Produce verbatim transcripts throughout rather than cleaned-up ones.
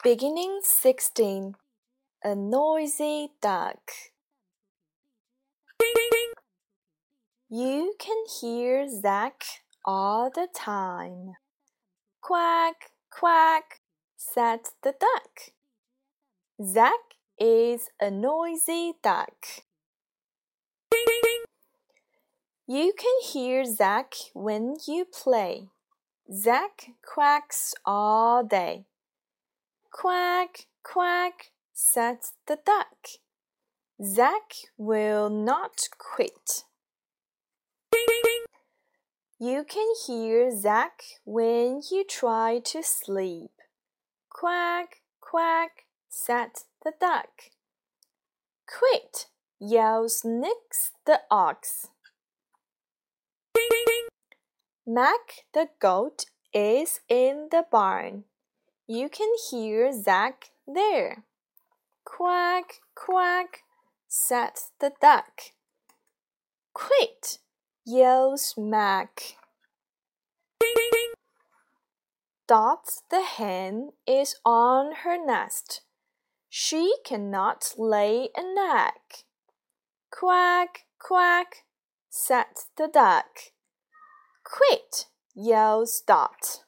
Beginning sixteen. A noisy duck. You can hear Zach all the time. Quack, quack, said the duck. Zach is a noisy duck. You can hear Zach when you play. Zach quacks all day. Quack, quack, said the duck. Zach will not quit. You can hear Zach when you try to sleep. Quack, quack, said the duck. Quit, yells Nix the ox. Mac the goat is in the barn. You can hear Zach there. Quack, quack, said the duck. Quit, yells Mac. Dot the hen is on her nest. She cannot lay an egg. Quack, quack, said the duck. Quit, yells Dot.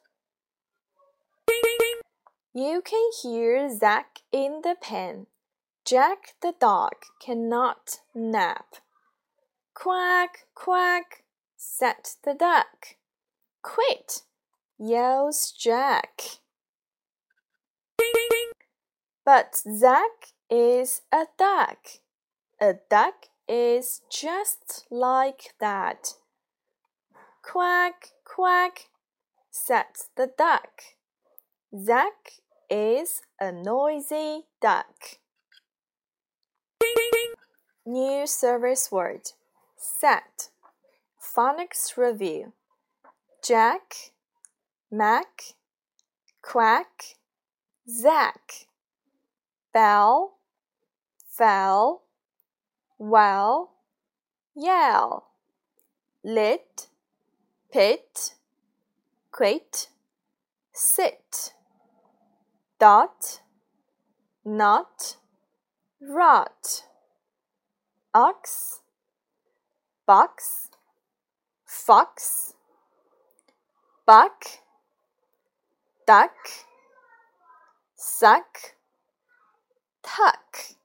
You can hear Zach in the pen. Jack the dog cannot nap. Quack, quack, said the duck. Quit, yells Jack. But Zach is a duck. A duck is just like that. Quack, quack, said the duck. Zach is a noisy duck. New service word. Set. Phonics review. Jack, Mac, quack, Zach. Bell, fell, well, yell. Lit, pit, quit, sit. Dot, not, rot. Ox, box, fox, buck, duck, suck, tuck.